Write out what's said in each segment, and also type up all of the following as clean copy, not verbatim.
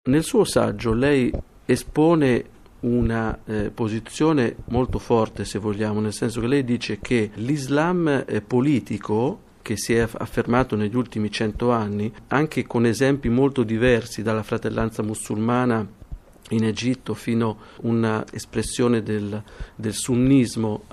Nel suo saggio lei espone una posizione molto forte, se vogliamo, nel senso che lei dice che l'Islam politico, che si è affermato negli ultimi 100 anni, anche con esempi molto diversi, dalla fratellanza musulmana in Egitto fino a una espressione del sunnismo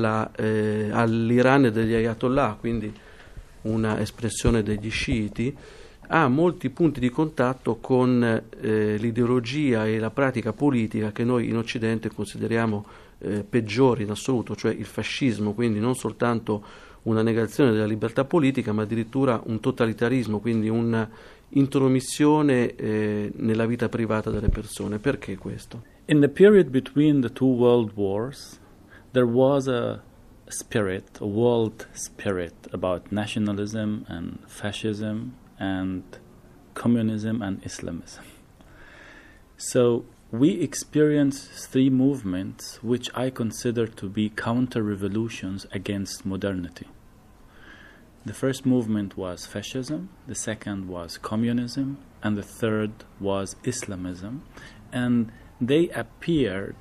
all'Iran degli Ayatollah, quindi una espressione degli sciiti, ha molti punti di contatto con l'ideologia e la pratica politica che noi in Occidente consideriamo peggiori in assoluto, cioè il fascismo, quindi non soltanto una negazione della libertà politica, ma addirittura un totalitarismo, quindi un'intromissione nella vita privata delle persone. Perché questo? In the period between the two world wars, there was a world spirit about nationalism and fascism and communism and Islamism. So we experienced three movements which I consider to be counter-revolutions against modernity. The first movement was fascism, the second was communism, and the third was Islamism. And they appeared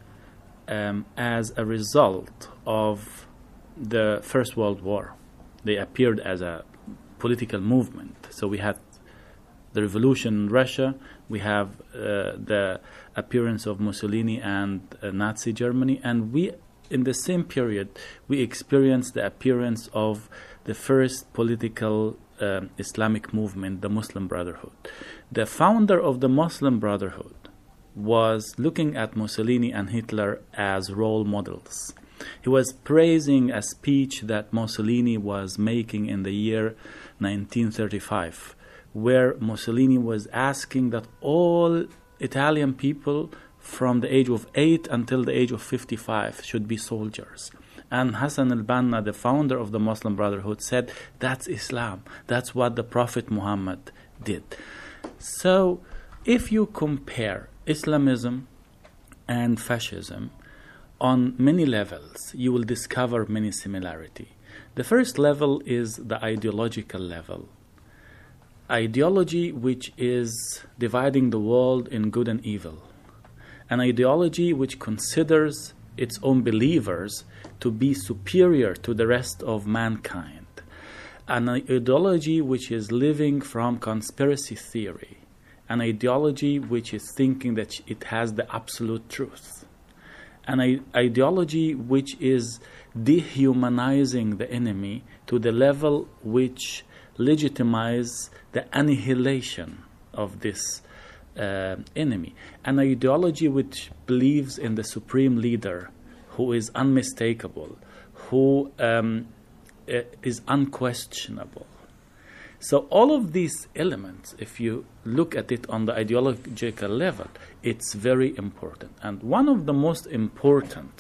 as a result of the First World War. They appeared as a political movement. So we had the revolution in Russia, we have the appearance of Mussolini and Nazi Germany, and we, in the same period, we experienced the appearance of the first political Islamic movement, the Muslim Brotherhood. The founder of the Muslim Brotherhood was looking at Mussolini and Hitler as role models. He was praising a speech that Mussolini was making in the year 1935, where Mussolini was asking that all Italian people from the age of 8 until the age of 55 should be soldiers. And Hassan al-Banna, the founder of the Muslim Brotherhood, said, that's Islam. That's what the Prophet Muhammad did. So if you compare Islamism and fascism on many levels, you will discover many similarities. The first level is the ideological level. Ideology which is dividing the world in good and evil. An ideology which considers its own believers to be superior to the rest of mankind. An ideology which is living from conspiracy theory. An ideology which is thinking that it has the absolute truth. An ideology which is dehumanizing the enemy to the level which legitimizes the annihilation of this enemy. An ideology which believes in the supreme leader who is unmistakable, who is unquestionable. So all of these elements, if you look at it on the ideological level, it's very important. And one of the most important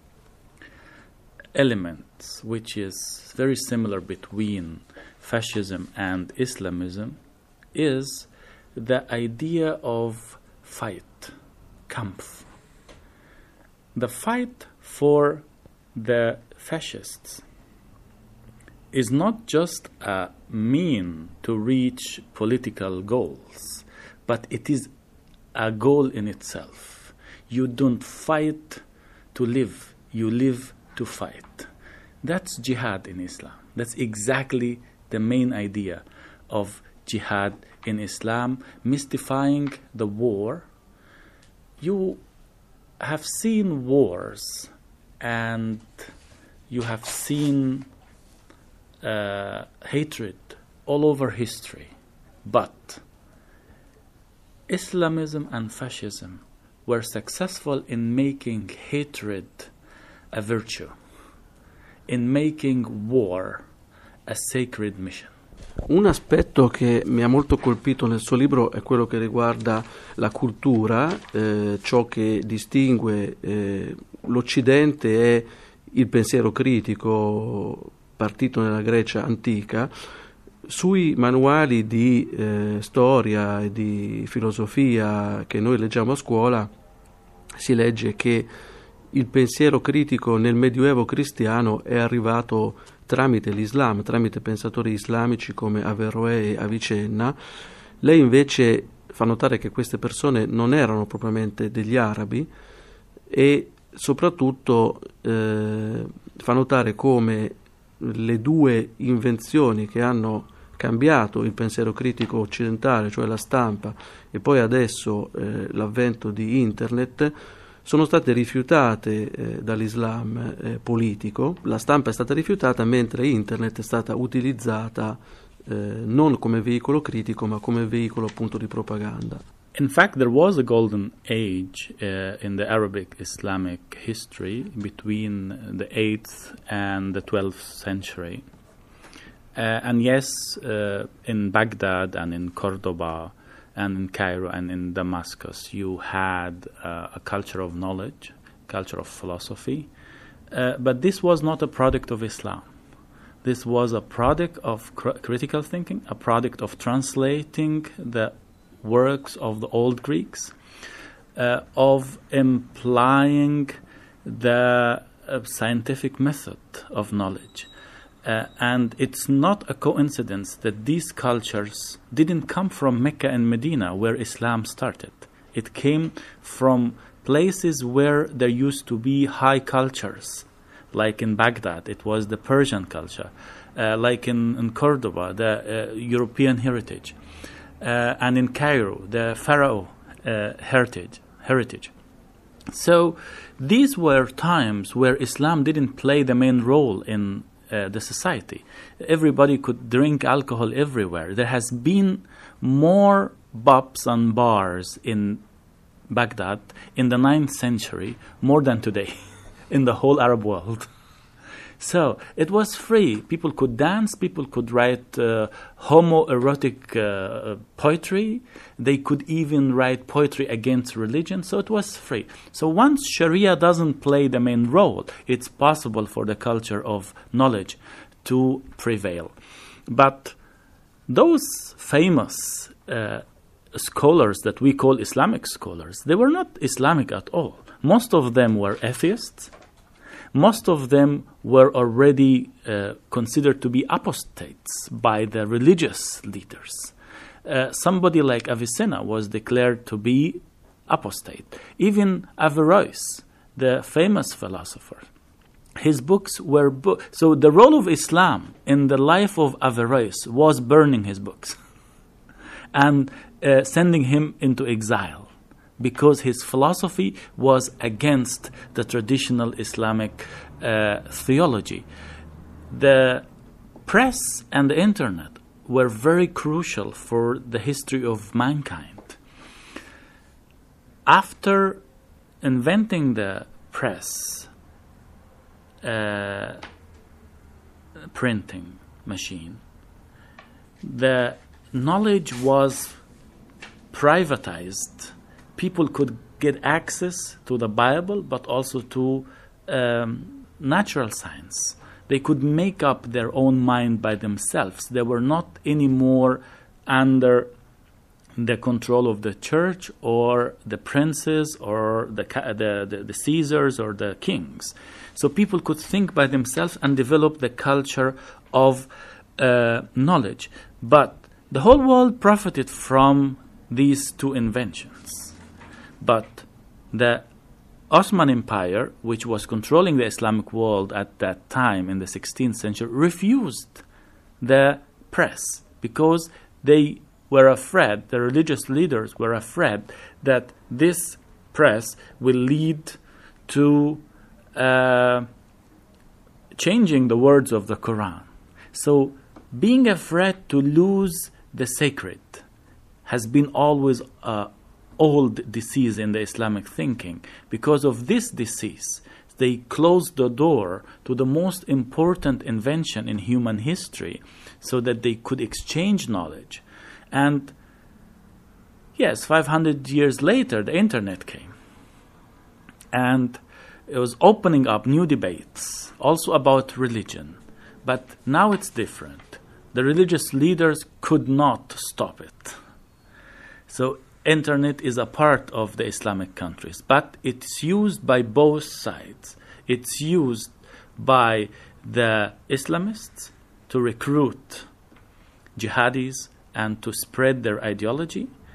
elements, which is very similar between fascism and Islamism, is the idea of fight, Kampf. The fight for the fascists is not just a mean to reach political goals, but it is a goal in itself. You don't fight to live, you live to fight. That's jihad in Islam. That's exactly the main idea of jihad in Islam, mystifying the war. You have seen wars and you have seen hatred all over history, but Islamism and fascism were successful in making hatred a virtue, in making war a sacred mission. Un aspetto che mi ha molto colpito nel suo libro è quello che riguarda la cultura, ciò che distingue l'Occidente è il pensiero critico partito nella Grecia antica. Sui manuali di storia e di filosofia che noi leggiamo a scuola si legge che il pensiero critico nel Medioevo cristiano è arrivato tramite l'Islam, tramite pensatori islamici come Averroè e Avicenna. Lei invece fa notare che queste persone non erano propriamente degli arabi e soprattutto fa notare come le due invenzioni che hanno cambiato il pensiero critico occidentale, cioè la stampa e poi adesso l'avvento di Internet, sono state rifiutate dall'Islam politico. La stampa è stata rifiutata mentre Internet è stata utilizzata non come veicolo critico ma come veicolo appunto di propaganda. In fact, there was a golden age in the Arabic Islamic history between the 8th and the 12th century. And yes, in Baghdad and in Cordoba and in Cairo and in Damascus, you had a culture of knowledge, culture of philosophy, but this was not a product of Islam. This was a product of critical thinking, a product of translating the works of the old Greeks, of implying the scientific method of knowledge. And it's not a coincidence that these cultures didn't come from Mecca and Medina, where Islam started. It came from places where there used to be high cultures, like in Baghdad, it was the Persian culture, like in Cordoba, the European heritage, and in Cairo, the Pharaoh heritage. So these were times where Islam didn't play the main role in the society. Everybody could drink alcohol everywhere. There has been more pubs and bars in Baghdad in the 9th century, more than today, in the whole Arab world. So it was free. People could dance, people could write homoerotic poetry. They could even write poetry against religion. So it was free. So once Sharia doesn't play the main role, it's possible for the culture of knowledge to prevail. But those famous scholars that we call Islamic scholars, they were not Islamic at all. Most of them were atheists. Most of them were already considered to be apostates by the religious leaders. Somebody like Avicenna was declared to be apostate. Even Averroes, the famous philosopher, his books were... So the role of Islam in the life of Averroes was burning his books and sending him into exile, because his philosophy was against the traditional Islamic theology. The press and the internet were very crucial for the history of mankind. After inventing the press, printing machine, the knowledge was privatized. People could get access to the Bible, but also to natural science. They could make up their own mind by themselves. They were not anymore under the control of the church or the princes or the Caesars or the kings. So people could think by themselves and develop the culture of knowledge. But the whole world profited from these two inventions. But the Ottoman Empire, which was controlling the Islamic world at that time in the 16th century, refused the press because they were afraid, the religious leaders were afraid that this press will lead to changing the words of the Quran. So being afraid to lose the sacred has been always old disease in the Islamic thinking. Because of this disease, they closed the door to the most important invention in human history so that they could exchange knowledge. And yes, 500 years later, the internet came. And it was opening up new debates, also about religion. But now it's different. The religious leaders could not stop it. So internet is a part of the Islamic countries, but it's used by both sides. It's used by the Islamists to recruit jihadis and to spread their ideology.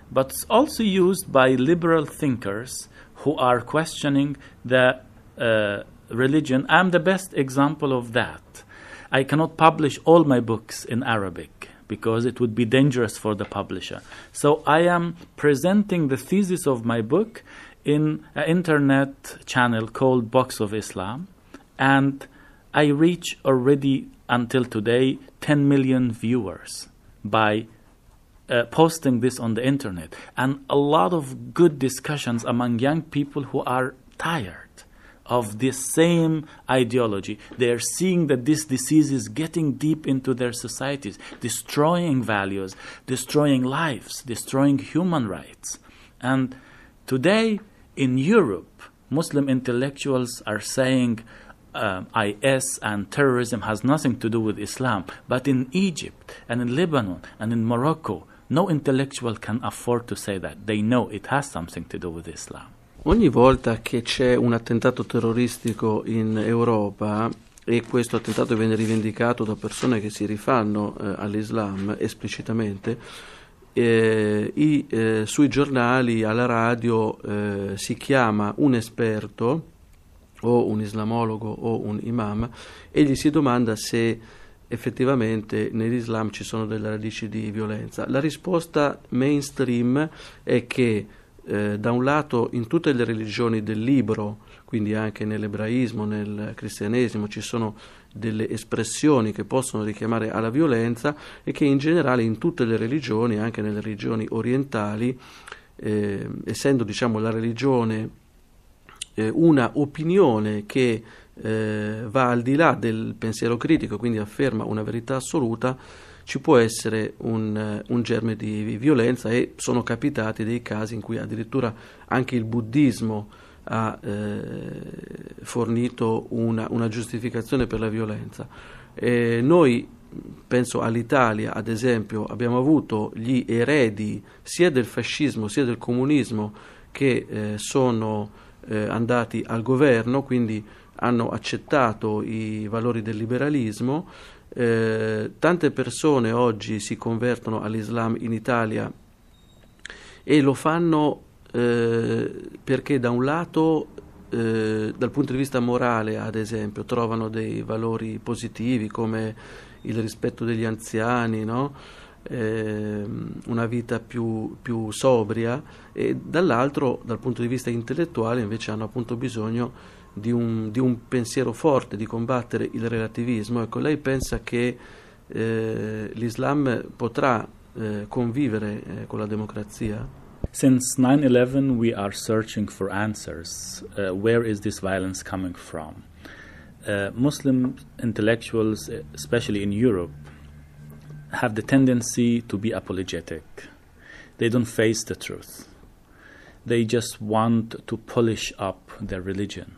but it's also used by liberal thinkers who are questioning the religion. I'm the best example of that. I cannot publish all my books in Arabic because it would be dangerous for the publisher. So I am presenting the thesis of my book in an internet channel called Box of Islam, and I reach already until today 10 million viewers by posting this on the internet, and a lot of good discussions among young people who are tired of this same ideology. They are seeing that this disease is getting deep into their societies, destroying values, destroying lives, destroying human rights. And today in Europe, Muslim intellectuals are saying IS and terrorism has nothing to do with Islam. But in Egypt and in Lebanon and in Morocco, no intellectual can afford to say that. They know it has something to do with Islam. Ogni volta che c'è un attentato terroristico in Europa, e questo attentato viene rivendicato da persone che si rifanno all'Islam esplicitamente, sui giornali, alla radio si chiama un esperto o un islamologo o un imam e gli si domanda se effettivamente nell'Islam ci sono delle radici di violenza. La risposta mainstream è che da un lato in tutte le religioni del libro, quindi anche nell'ebraismo, nel cristianesimo, ci sono delle espressioni che possono richiamare alla violenza, e che in generale in tutte le religioni, anche nelle religioni orientali, essendo diciamo la religione una opinione che va al di là del pensiero critico, quindi afferma una verità assoluta, ci può essere un germe di violenza, e sono capitati dei casi in cui addirittura anche il buddismo ha fornito una giustificazione per la violenza. Noi, penso all'Italia ad esempio, abbiamo avuto gli eredi sia del fascismo sia del comunismo che sono andati al governo, quindi hanno accettato i valori del liberalismo. Tante persone oggi si convertono all'Islam in Italia e lo fanno perché da un lato dal punto di vista morale ad esempio trovano dei valori positivi come il rispetto degli anziani, no? Una vita più sobria, e dall'altro dal punto di vista intellettuale invece hanno appunto bisogno di un pensiero forte, di combattere il relativismo. Ecco, lei pensa che l'Islam potrà convivere con la democrazia? Since 9/11 we are searching for answers. Where is this violence coming from? Muslim intellectuals, especially in Europe, have the tendency to be apologetic. They don't face the truth. They just want to polish up their religion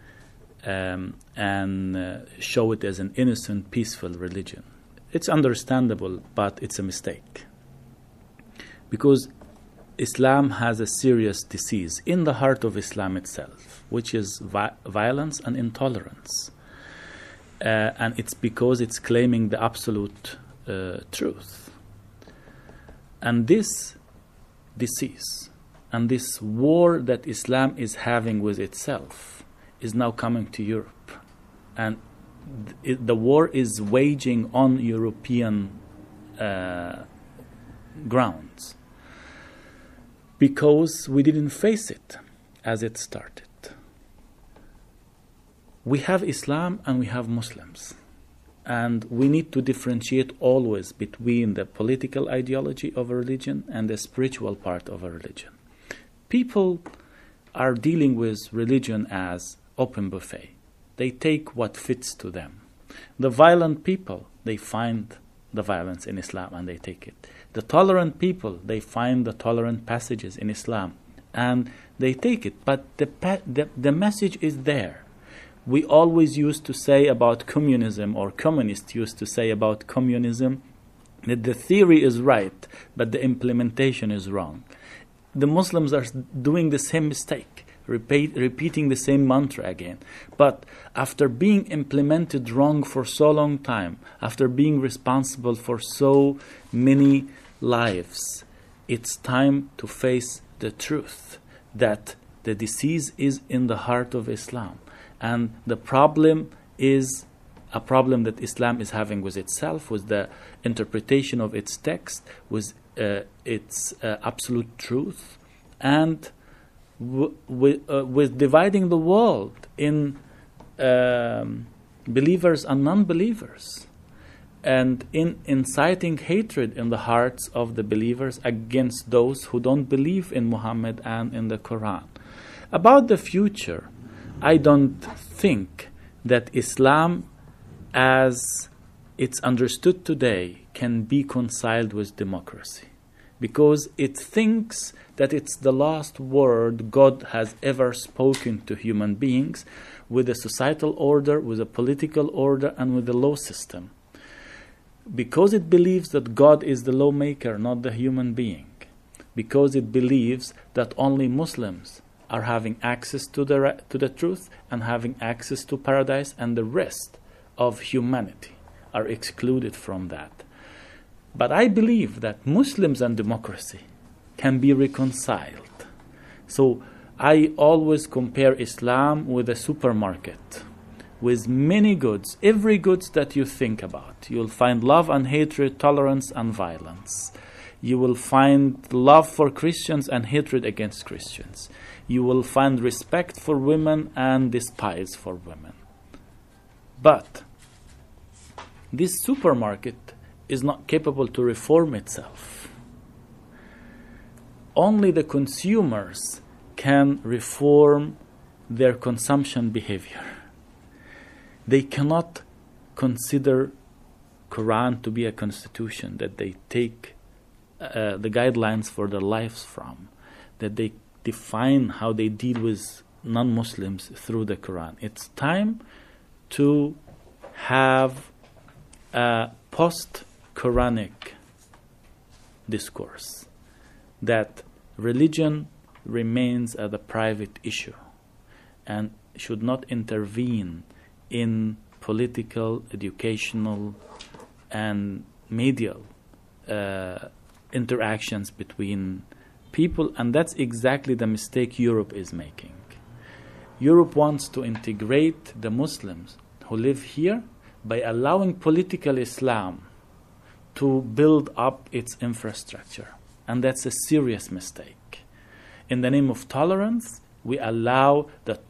and show it as an innocent, peaceful religion. It's understandable, but it's a mistake. Because Islam has a serious disease in the heart of Islam itself, which is violence and intolerance. And it's because it's claiming the absolute truth. And this disease and this war that Islam is having with itself is now coming to Europe. And the war is waging on European grounds because we didn't face it as it started. We have Islam and we have Muslims. And we need to differentiate always between the political ideology of a religion and the spiritual part of a religion. People are dealing with religion as open buffet. They take what fits to them. The violent people, they find the violence in Islam and they take it. The tolerant people, they find the tolerant passages in Islam and they take it. But the message is there. We always used to say about communism, or communists used to say about communism, that the theory is right, but the implementation is wrong. The Muslims are doing the same mistake, repeating the same mantra again. But after being implemented wrong for so long time, after being responsible for so many lives, it's time to face the truth that the disease is in the heart of Islam, and the problem is a problem that Islam is having with itself, with the interpretation of its text, with its absolute truth, and with dividing the world in believers and non-believers, and in inciting hatred in the hearts of the believers against those who don't believe in Muhammad and in the Quran. About the future, I don't think that Islam, as it's understood today, can be reconciled with democracy, because it thinks that it's the last word God has ever spoken to human beings, with a societal order, with a political order, and with the law system. Because it believes that God is the lawmaker, not the human being. Because it believes that only Muslims are having access to the truth and having access to paradise, and the rest of humanity are excluded from that. But I believe that Muslims and democracy can be reconciled. So I always compare Islam with a supermarket, with many goods, every goods that you think about. You'll find love and hatred, tolerance and violence. You will find love for Christians and hatred against Christians. You will find respect for women and despise for women. But this supermarket is not capable to reform itself. Only the consumers can reform their consumption behavior. They cannot consider Quran to be a constitution that they take the guidelines for their lives from, that they define how they deal with non-Muslims through the Quran. It's time to have a post-Quranic discourse, that religion remains as a private issue and should not intervene in political, educational, and medial interactions between people. And that's exactly the mistake Europe is making. Europe wants to integrate the Muslims who live here by allowing political Islam to build up its infrastructure. And that's a serious mistake. In the name of tolerance, we allow that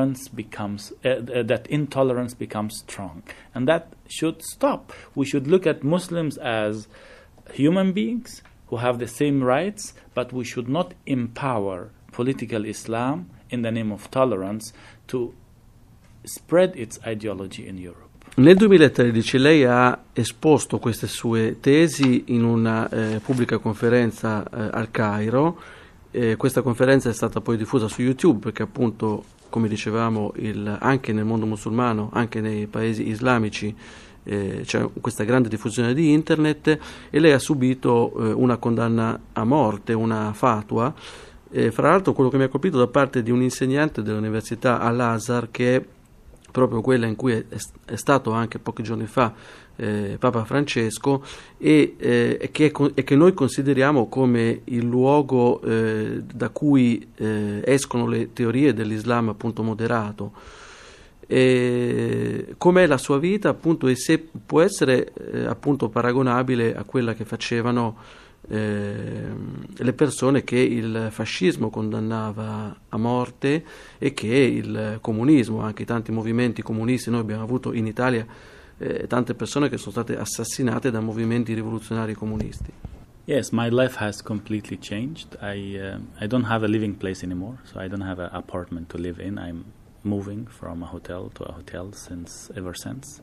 that intolerance becomes strong. And that should stop. We should look at Muslims as human beings who have the same rights, but we should not empower political Islam in the name of tolerance to spread its ideology in Europe. Nel 2013 lei ha esposto queste sue tesi in una pubblica conferenza al Cairo. Questa conferenza è stata poi diffusa su YouTube perché appunto, come dicevamo, anche nel mondo musulmano, anche nei paesi islamici, c'è questa grande diffusione di internet, e lei ha subito una condanna a morte, una fatwa. Fra l'altro, quello che mi ha colpito da parte di un insegnante dell'università Al-Azhar, che è proprio quella in cui è stato anche pochi giorni fa Papa Francesco, e che noi consideriamo come il luogo da cui escono le teorie dell'Islam appunto moderato. Com'è la sua vita appunto, e se può essere appunto paragonabile a quella che facevano le persone che il fascismo condannava a morte e che il comunismo, anche i tanti movimenti comunisti. Noi abbiamo avuto in Italia tante persone che sono state assassinate da movimenti rivoluzionari comunisti. Yes, my life has completely changed. I don't have a living place anymore, so I don't have an apartment to live in. I'm moving from a hotel to a hotel ever since.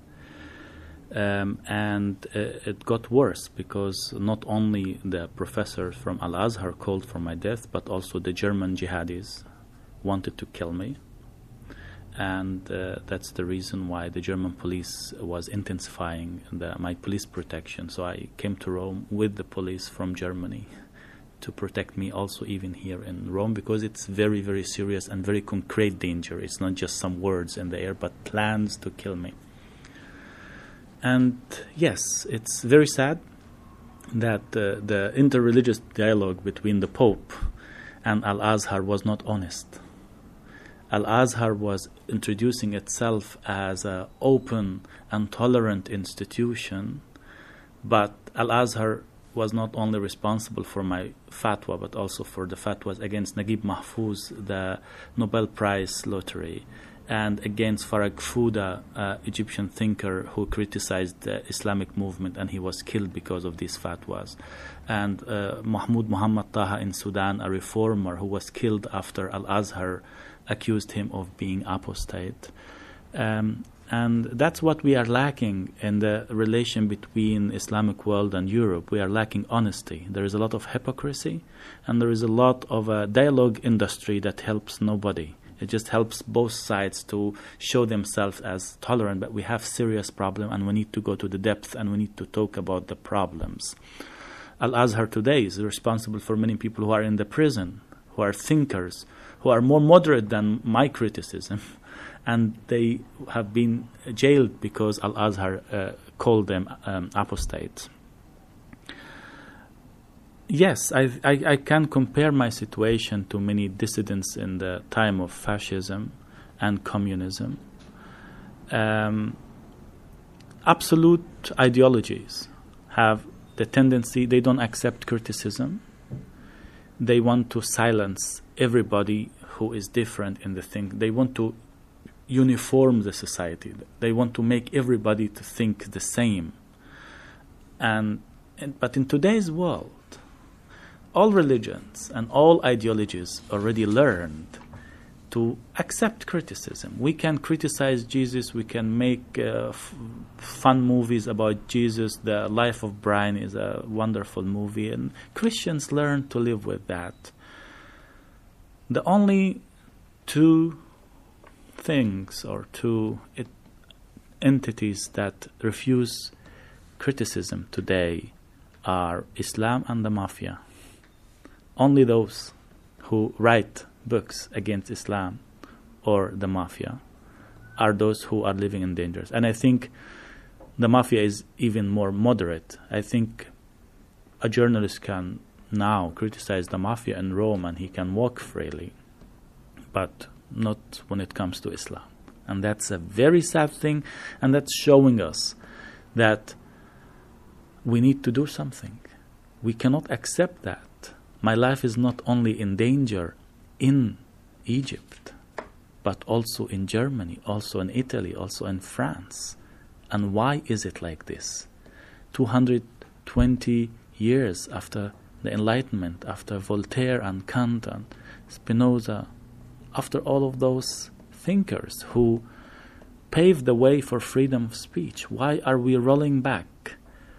And it got worse because not only the professors from Al-Azhar called for my death, but also the German jihadis wanted to kill me. And that's the reason why the German police was intensifying my police protection. So I came to Rome with the police from Germany to protect me also even here in Rome, because it's very, very serious and very concrete danger. It's not just some words in the air, but plans to kill me. And yes, it's very sad. that the interreligious dialogue between the Pope and Al-Azhar was not honest. Al-Azhar was introducing itself as an open and tolerant institution, but Al-Azhar was not only responsible for my fatwa, but also for the fatwas against Naguib Mahfouz, the Nobel Prize lottery, and against Farag Fouda, Egyptian thinker who criticized the Islamic movement, and he was killed because of these fatwas. And Mahmoud Muhammad Taha in Sudan, a reformer who was killed after Al-Azhar accused him of being apostate. And that's what we are lacking in the relation between Islamic world and Europe. We are lacking honesty. There is a lot of hypocrisy, and there is a lot of a dialogue industry that helps nobody. It just helps both sides to show themselves as tolerant, but we have serious problem, and we need to go to the depth, and we need to talk about the problems. Al-Azhar today is responsible for many people who are in the prison, who are thinkers, who are more moderate than my criticism, and they have been jailed because Al-Azhar called them apostates. Yes, I can compare my situation to many dissidents in the time of fascism and communism. Absolute ideologies have the tendency, they don't accept criticism. They want to silence everybody who is different in the thing. They want to uniform the society. They want to make everybody to think the same. But in today's world, all religions and all ideologies already learned to accept criticism. We can criticize Jesus, we can make fun movies about Jesus. The Life of Brian is a wonderful movie, and Christians learn to live with that. The only two things or two entities that refuse criticism today are Islam and the mafia. Only those who write books against Islam or the mafia are those who are living in danger. And I think the mafia is even more moderate. I think a journalist can now criticize the mafia in Rome and he can walk freely, but not when it comes to Islam. And that's a very sad thing, and that's showing us that we need to do something. We cannot accept that. My life is not only in danger in Egypt, but also in Germany, also in Italy, also in France. And why is it like this? 220 years after the Enlightenment, after Voltaire and Kant and Spinoza, after all of those thinkers who paved the way for freedom of speech, why are we rolling back?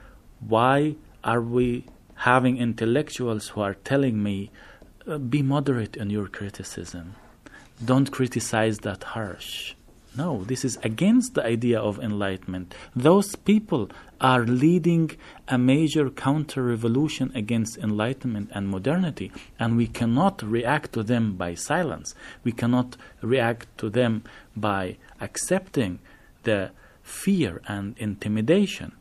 Why are we having intellectuals who are telling me, be moderate in your criticism, don't criticize that harsh? No, this is against the idea of enlightenment. Those people are leading a major counter-revolution against enlightenment and modernity, and we cannot react to them by silence. We cannot react to them by accepting the fear and intimidation.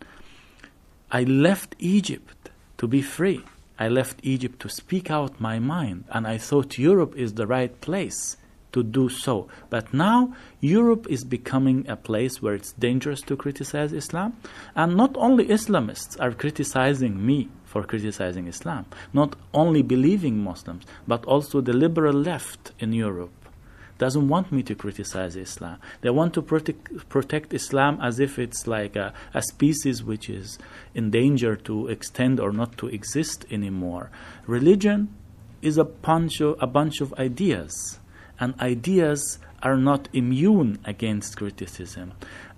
I left Egypt to be free. I left Egypt to speak out my mind, and I thought Europe is the right place to do so. But now Europe is becoming a place where it's dangerous to criticize Islam, and not only Islamists are criticizing me for criticizing Islam, not only believing Muslims, but also the liberal left in Europe doesn't want me to criticize Islam. They want to protect Islam as if it's like a species which is in danger to extend or not to exist anymore. Religion is a bunch of ideas, and ideas are not immune against criticism,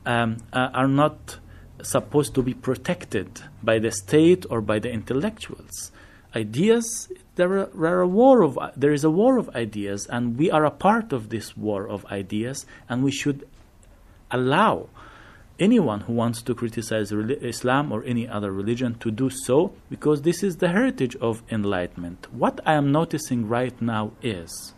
are not supposed to be protected by the state or by the intellectuals. Ideas, there is a war of ideas, and we are a part of this war of ideas, and we should allow anyone who wants to criticize Islam or any other religion to do so, because this is the heritage of enlightenment. What I am noticing right now is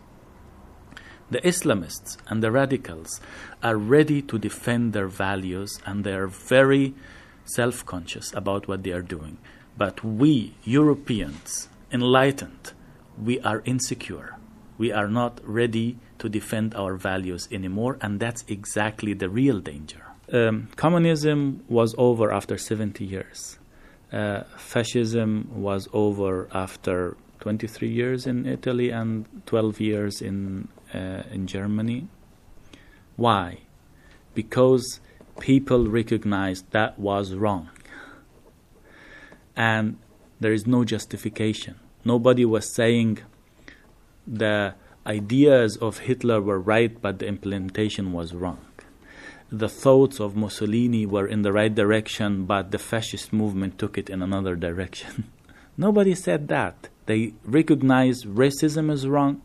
the Islamists and the radicals are ready to defend their values, and they are very self-conscious about what they are doing. But we, Europeans, enlightened, we are insecure. We are not ready to defend our values anymore, and that's exactly the real danger. Communism was over after 70 years. Fascism was over after 23 years in Italy and 12 years in Germany. Why? Because people recognized that was wrong. And there is no justification. Nobody was saying the ideas of Hitler were right, but the implementation was wrong. The thoughts of Mussolini were in the right direction, but the fascist movement took it in another direction. Nobody said that. They recognized racism is wrong.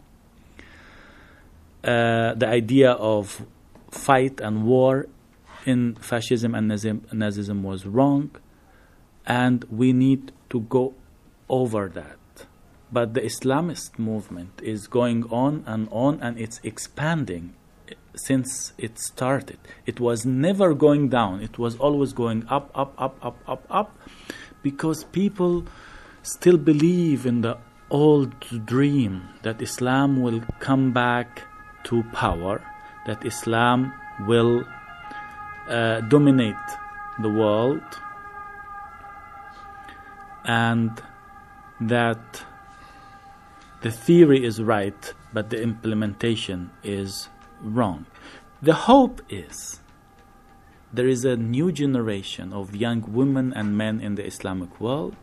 The idea of fight and war in fascism and Nazism was wrong, and we need to go over that. But the Islamist movement is going on, and it's expanding since it started. It was never going down. It was always going up, up, up, up, up, up, because people still believe in the old dream that Islam will come back to power, that Islam will dominate the world, and that the theory is right, but the implementation is wrong. The hope is there is a new generation of young women and men in the Islamic world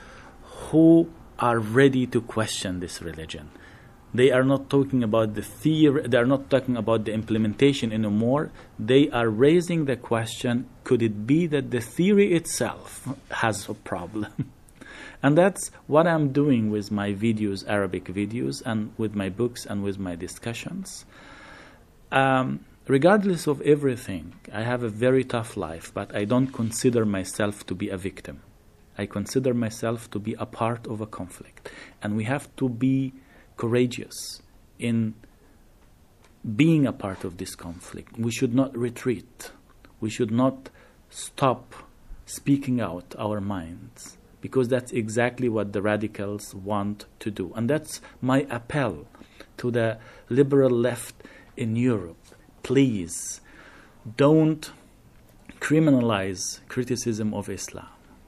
who are ready to question this religion. They are not talking about the theory, they are not talking about the implementation anymore. They are raising the question, could it be that the theory itself has a problem? And that's what I'm doing with my videos, Arabic videos, and with my books and with my discussions. Regardless of everything, I have a very tough life, but I don't consider myself to be a victim. I consider myself to be a part of a conflict. And we have to be courageous in being a part of this conflict. We should not retreat. We should not stop speaking out our minds, because that's exactly what the radicals want to do. And that's my appel to the liberal left in Europe. Please don't criminalize criticism of Islam.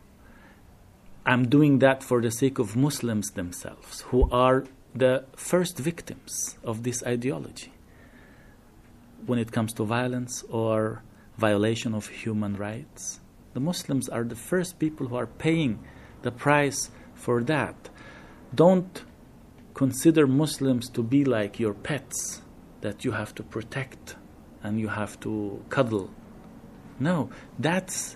I'm doing that for the sake of Muslims themselves, who are the first victims of this ideology when it comes to violence or violation of human rights. The Muslims are the first people who are paying the price for that. Don't consider Muslims to be like your pets that you have to protect and you have to cuddle. No, that's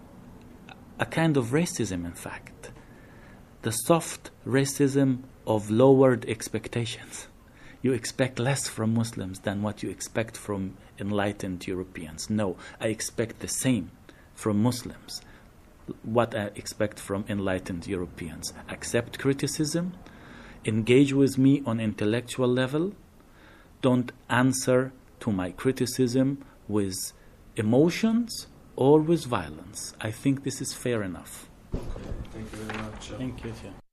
a kind of racism, in fact. The soft racism of lowered expectations. You expect less from Muslims than what you expect from enlightened Europeans. No, I expect the same from Muslims, what I expect from enlightened Europeans. Accept criticism, engage with me on intellectual level, don't answer to my criticism with emotions or with violence. I think this is fair enough. Okay, thank you very much. Thank you, too.